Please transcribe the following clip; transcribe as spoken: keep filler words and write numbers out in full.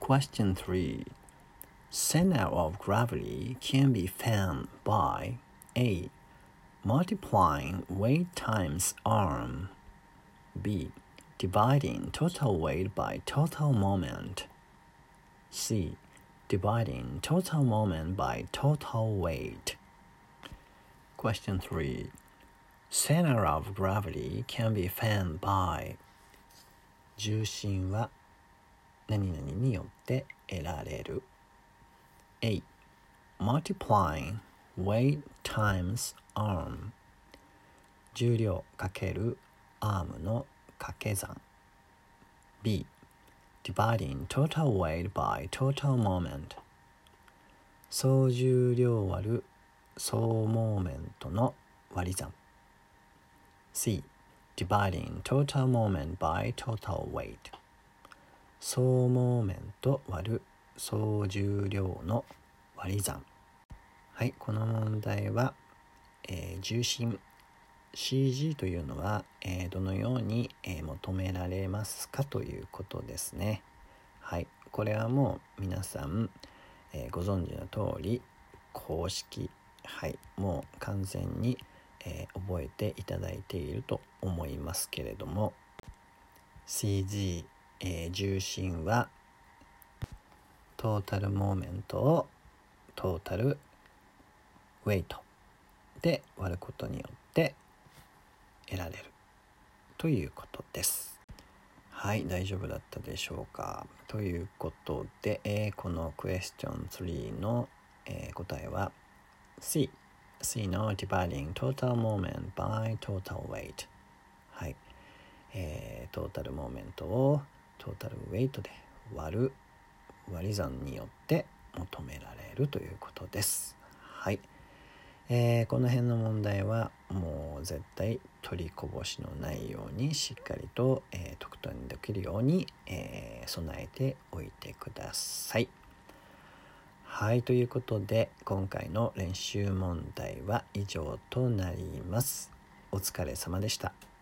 Question three. Center of gravity can be found by A. Multiplying weight times arm. B. Dividing total weight by total moment. C. Dividing total moment by total weight. Question three. Center of gravity can be found by 重心は何々によって得られる。A. Multiplying weight times arm. 重量×アームの掛け算。B. Dividing total weight by total moment. 総重量割る総モーメントの割り算。C. Dividing total moment by total weight. 総モーメント割る総重量の割り算。はい、この問題は、えー、重心 シージー というのは、えー、どのように、えー、求められますかということですね。はい、これはもう皆さん、えー、ご存知の通り公式、はい、もう完全に、えー、覚えていただいていると思いますけれども、 シージー、えー、重心はトータルモーメントをトータルウェイトで割ることによって得られるということです。はい、大丈夫だったでしょうか。ということで、えー、このクエスチョンスリーの、えー、答えは C C の Dividing Total Moment by Total Weight。 はい、えー、トータルモーメントをトータルウェイトで割る割り算によって求められるということです。はい、えー、この辺の問題はもう絶対取りこぼしのないようにしっかりと、えー、得点できるように、えー、備えておいてください。はい、ということで今回の練習問題は以上となります。お疲れ様でした。